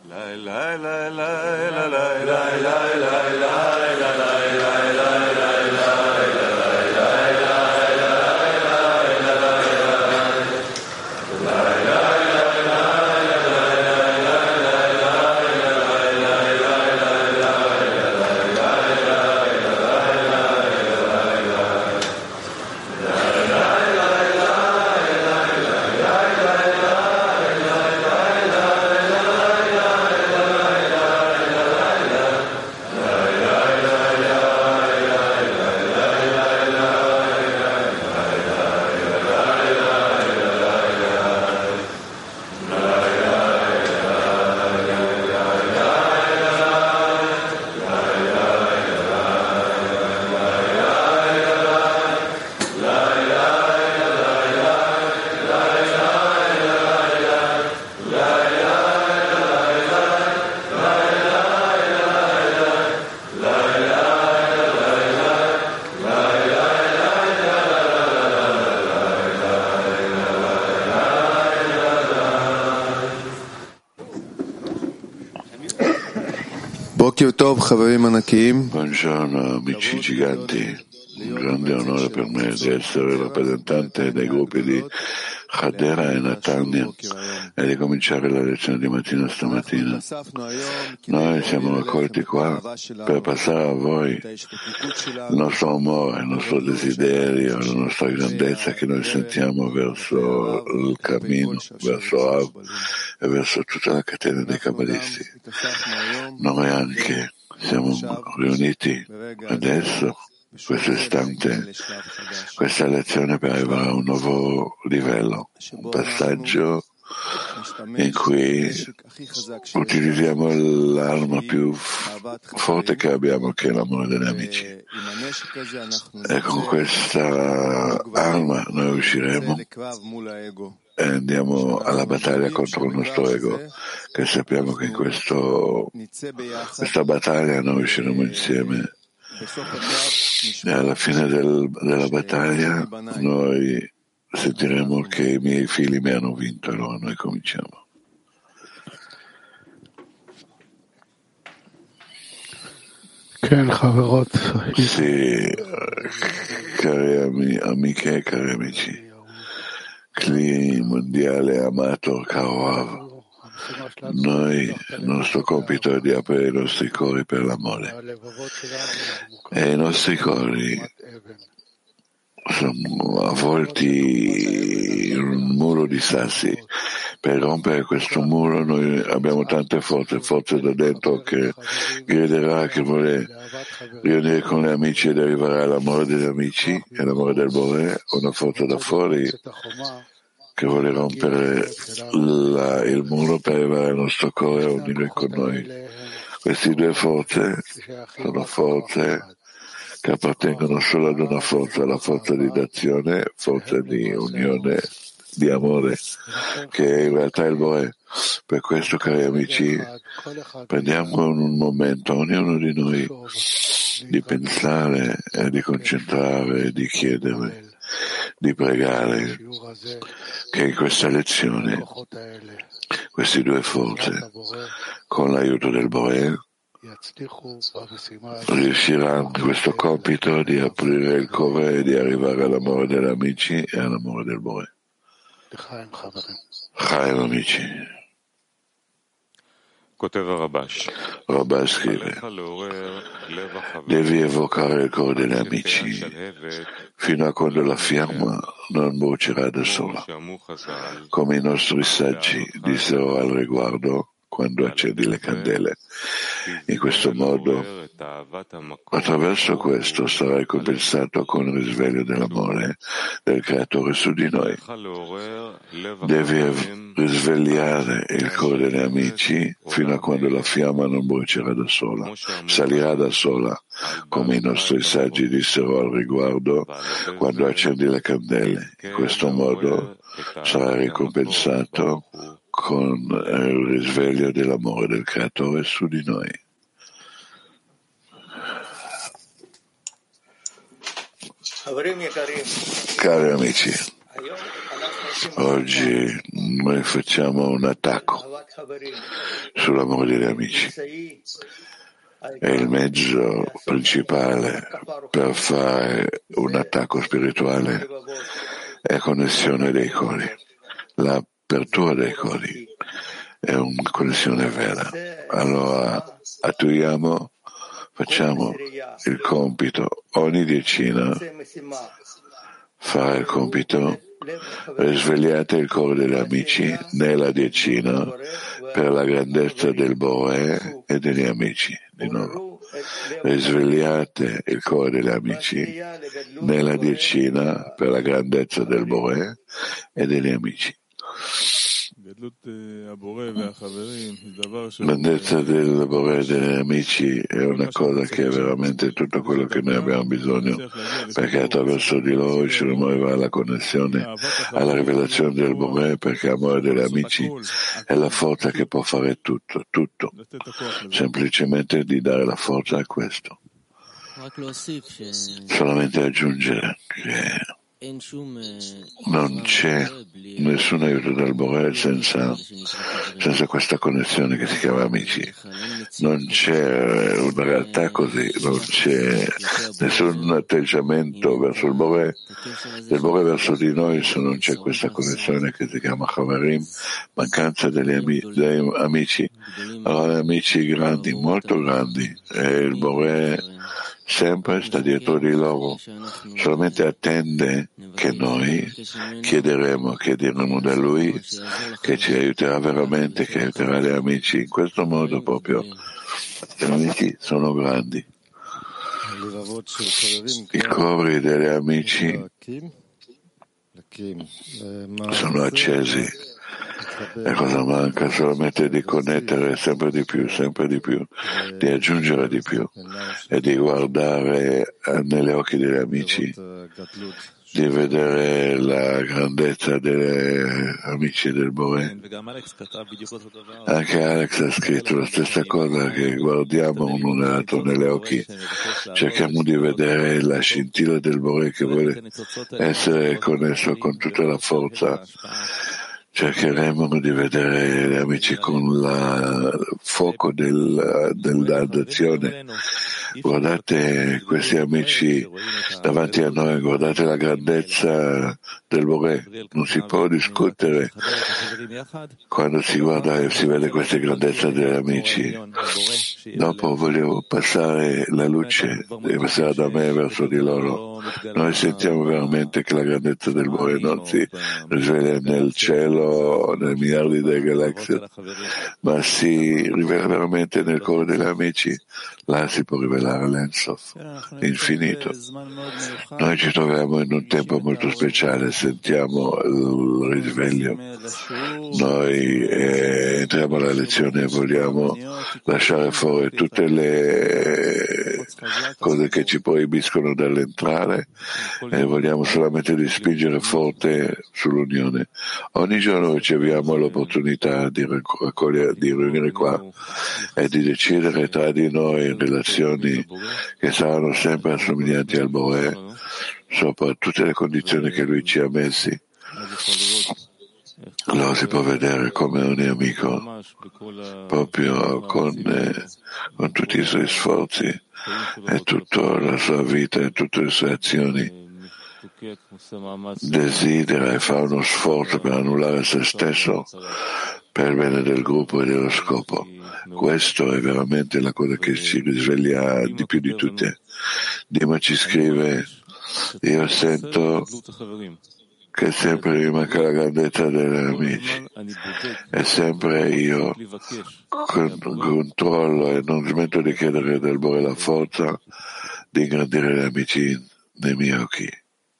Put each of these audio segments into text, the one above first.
Buongiorno amici giganti, un grande onore per me di essere rappresentante dei gruppi di Hadera e Netanya e di cominciare la lezione di mattina stamattina. Noi siamo raccolti qua per passare a voi il nostro amore, il nostro desiderio, la nostra grandezza che noi sentiamo verso il cammino, verso Av e verso tutta la catena dei Kabbalisti. Noi anche siamo riuniti adesso, questo istante, questa lezione per arrivare a un nuovo livello, un passaggio in cui utilizziamo l'arma più forte che abbiamo, che è l'amore degli amici. E con questa arma noi usciremo e andiamo alla battaglia contro il nostro ego, che sappiamo che in questa battaglia noi usciremo insieme e alla fine della battaglia noi sentiremo che i miei figli mi hanno vinto, allora noi cominciamo. Sì, cari amiche e cari amici, Cli mondiale amato caro Av, noi, il nostro compito è di aprire i nostri cuori per l'amore e i nostri cuori sono avvolti in un muro di sassi. Per rompere questo muro noi abbiamo tante forze da dentro che griderà, che vuole riunire con gli amici ed arrivare all'amore degli amici e all'amore del Bore, una forza da fuori che vuole rompere il muro per arrivare al nostro cuore e unire con noi. Queste due forze sono forze che appartengono solo ad una forza, la forza di d'azione, forza di unione, di amore, che in realtà è il Bore. Per questo, cari amici, prendiamo un momento, ognuno di noi, di pensare e di concentrare, di chiedere, di pregare che in questa lezione queste due forze, con l'aiuto del Bore, riusciranno in questo compito di aprire il cuore e di arrivare all'amore degli amici e all'amore del Bore. Chaim amici. Rabbah scrive: devi evocare il cuore degli amici fino a quando la fiamma non brucerà da sola, come i nostri saggi dissero al riguardo quando accendi le candele. In questo modo, attraverso questo sarai compensato con il risveglio dell'amore del Creatore su di noi. Devi risvegliare il cuore degli amici fino a quando la fiamma non brucerà da sola, salirà da sola, come i nostri saggi dissero al riguardo quando accendi le candele. In questo modo sarai ricompensato con il risveglio dell'amore del Creatore su di noi. Cari amici, oggi noi facciamo un attacco sull'amore degli amici. È il mezzo principale per fare un attacco spirituale, è connessione dei cori. L'apertura dei cori è una connessione vera. Allora attuiamo, facciamo il compito, ogni decina fa il compito, risvegliate il cuore degli amici nella decina per la grandezza del Bore e degli amici. Di nuovo, risvegliate il cuore degli amici nella decina per la grandezza del Bore e degli amici. Grandezza del Bore e degli amici è una cosa che è veramente tutto quello che noi abbiamo bisogno, perché attraverso di loro riusciremo ad arrivare alla connessione, alla rivelazione del Bore, perché l'amore degli amici è la forza che può fare tutto, semplicemente di dare la forza a questo. Solamente aggiungere che non c'è nessun aiuto dal Bore senza questa connessione che si chiama amici. Non c'è una realtà così, non c'è nessun atteggiamento verso il Bore, del Bore verso di noi se non c'è questa connessione che si chiama Chavarim, mancanza degli amici. Allora amici grandi, molto grandi, e il Bore sempre sta dietro di loro, solamente attende che noi chiederemo da Lui, che ci aiuterà veramente, che aiuterà gli amici. In questo modo proprio gli amici sono grandi. I cuori degli amici sono accesi. E cosa manca? Solamente di connettere sempre di più, di aggiungere di più e di guardare negli occhi degli amici, di vedere la grandezza degli amici del Bore. Anche Alex ha scritto la stessa cosa, che guardiamo uno nell'altro negli occhi, cerchiamo di vedere la scintilla del Bore che vuole essere connesso con tutta la forza. Cercheremo di vedere gli amici con il fuoco dell'azione. Guardate questi amici davanti a noi, guardate la grandezza del Bore. Non si può discutere quando si guarda e si vede questa grandezza degli amici. Dopo voglio passare la luce, deve passare da me verso di loro. Noi sentiamo veramente che la grandezza del Bore non si risveglia nel cielo, nei miliardi di galassie, ma si rivela veramente nel cuore degli amici. Là si può rivelare l'Ensof, l'infinito. Noi ci troviamo in un tempo molto speciale, sentiamo il risveglio. Noi entriamo alla lezione e vogliamo lasciare fuori tutte le cose che ci proibiscono dall'entrare e vogliamo solamente di spingere forte sull'unione. Ogni giorno riceviamo l'opportunità di riunire qua e di decidere tra di noi relazioni che saranno sempre assomiglianti al Bore, sopra tutte le condizioni che lui ci ha messi. Allora si può vedere come ogni amico, proprio con tutti i suoi sforzi e tutta la sua vita e tutte le sue azioni, desidera e fa uno sforzo per annullare se stesso per il bene del gruppo e dello scopo. Questo è veramente la cosa che ci risveglia di più di tutte. Dima ci scrive: io sento che sempre mi manca la grandezza degli amici e sempre io controllo e non smetto di chiedere del Bore la forza di ingrandire gli amici nei miei occhi.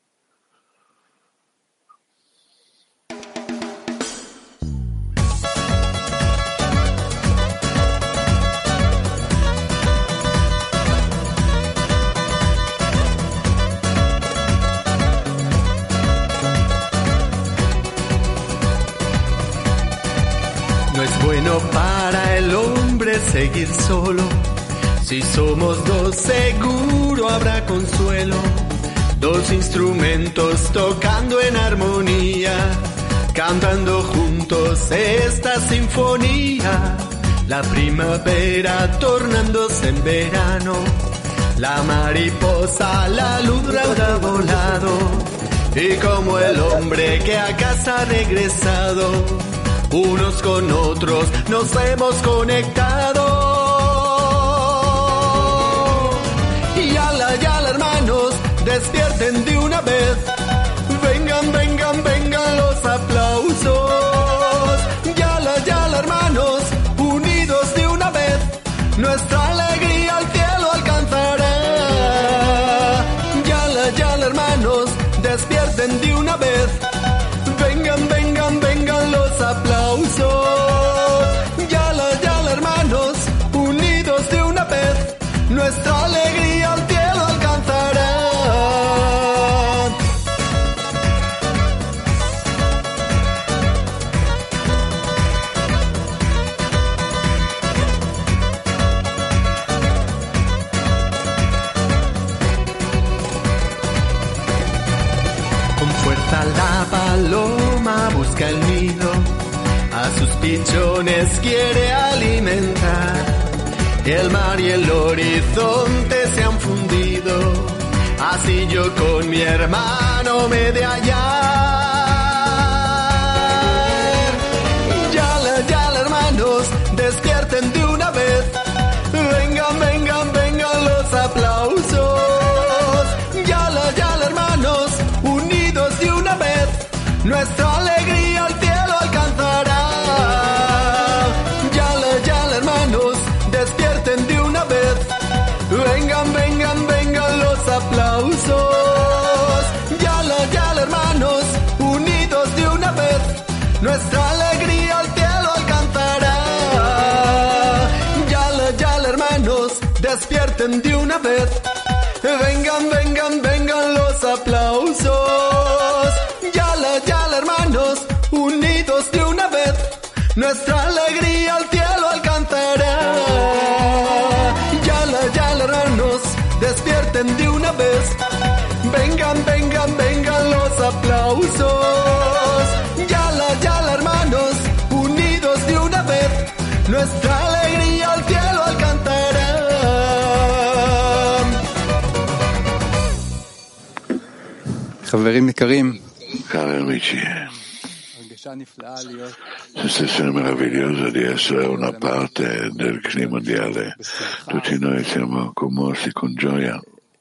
No es bueno para el hombre seguir solo. Si somos dos, seguro habrá consuelo. Dos instrumentos tocando en armonía. cantando juntos esta sinfonía, la primavera tornándose en verano, la mariposa, la luz habrá volado, y como el hombre que a casa ha regresado, unos con otros nos hemos conectado. Y yala, hermanos, despierten de una vez. Vengan, vengan, vengan los aplausos. Yala, hermanos, unidos de una vez, nuestra alegría al cielo alcanzará. Yala, hermanos, despierten de una vez. Vengan, vengan, vengan los aplausos. Yala, hermanos, unidos de una vez, nuestra alegría al cielo alcanzará. Con fuerza la paloma busca el nido, a sus pichones quiere alimentar. El mar y el horizonte se han fundido, así yo con mi hermano me he de hallar. Yala, hermanos, despierten de una vez. Vengan, vengan, vengan los aplausos. Yala, hermanos, unidos de una vez, nuestra alegría al cielo alcanzará. Yala, hermanos, despierten de una vez. Vengan, vengan, vengan los aplausos. Yala, hermanos, unidos de una vez, nuestra alegría al cielo alcanzará. Yala, hermanos, despierten de una vez. Vengan, vengan, vengan los aplausos. Yala, hermanos, unidos de una vez, nuestra alegría al cielo alcanzará. Yala, hermanos, despierten de una vez. Vengan, vengan, vengan los aplausos. Yala, hermanos, unidos de una vez, nuestra alegría al cielo alcanzará. חברים יקרים, Cari amici, sensazione meravigliosa di essere una parte del clima mondiale. Tutti noi siamo commossi con gioia,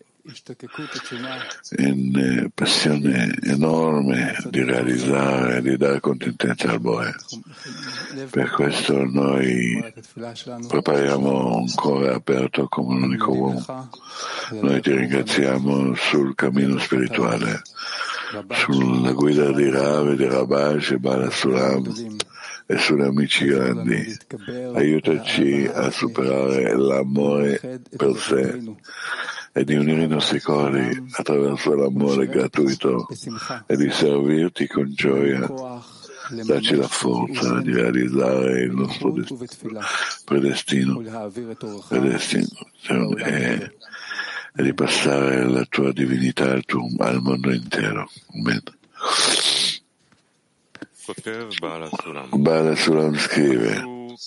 in passione enorme di realizzare, di dare contentezza al Boe. Per questo noi prepariamo un cuore aperto come un unico uomo. Noi ti ringraziamo sul cammino spirituale, sulla guida di Rav e di Rabash e Bala Sulam e sulle amici grandi. Aiutaci a superare l'amore per sé e di unire i nostri cuori attraverso l'amore gratuito e di servirti con gioia. Dacci la forza di realizzare il nostro predestino e di passare la tua divinità al mondo intero. Amen. Bala Sulam scrive: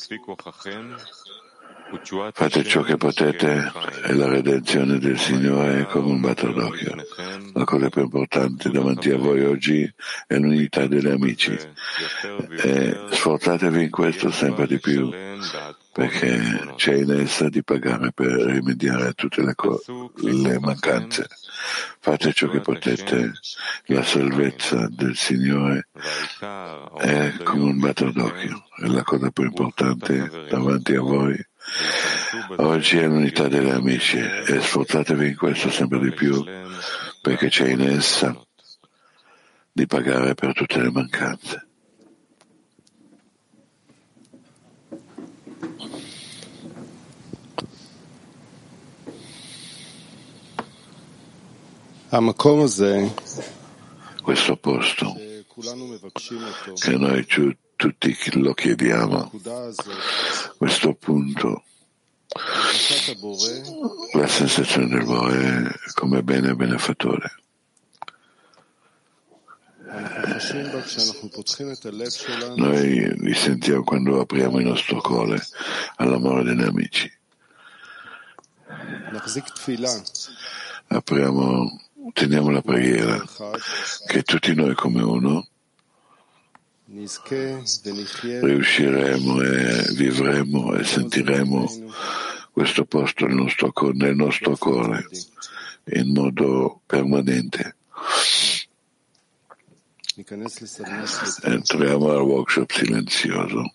fate ciò che potete e la redenzione del Signore è come un batter d'occhio. La cosa più importante davanti a voi oggi è l'unità degli amici e sforzatevi in questo sempre di più, perché c'è in essa di pagare per rimediare a tutte le mancanze. Fate ciò che potete, la salvezza del Signore è come un batter d'occhio, è la cosa più importante davanti a voi. Oggi è l'unità degli amici e sforzatevi in questo sempre di più, perché c'è in essa di pagare per tutte le mancanze. Questo posto che noi tutti lo chiediamo, questo punto, la sensazione del Boe come bene benefattore. Noi li sentiamo quando apriamo il nostro cuore all'amore degli amici. Teniamo la preghiera che tutti noi come uno riusciremo e vivremo e sentiremo questo posto nel nostro cuore in modo permanente. Entriamo al workshop silenzioso.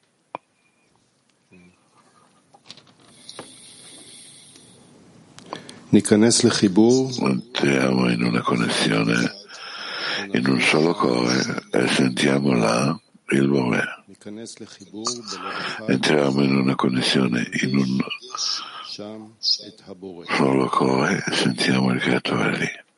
Entriamo in una connessione, in un solo cuore, e sentiamo là il Bore. Entriamo in una connessione, in un solo cuore, e sentiamo il Creatore lì.